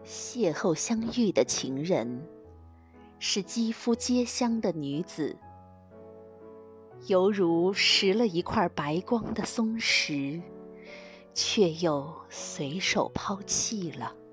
邂逅相遇的情人，是肌肤皆香的女子，犹如拾了一块白光的松石，却又随手抛弃了。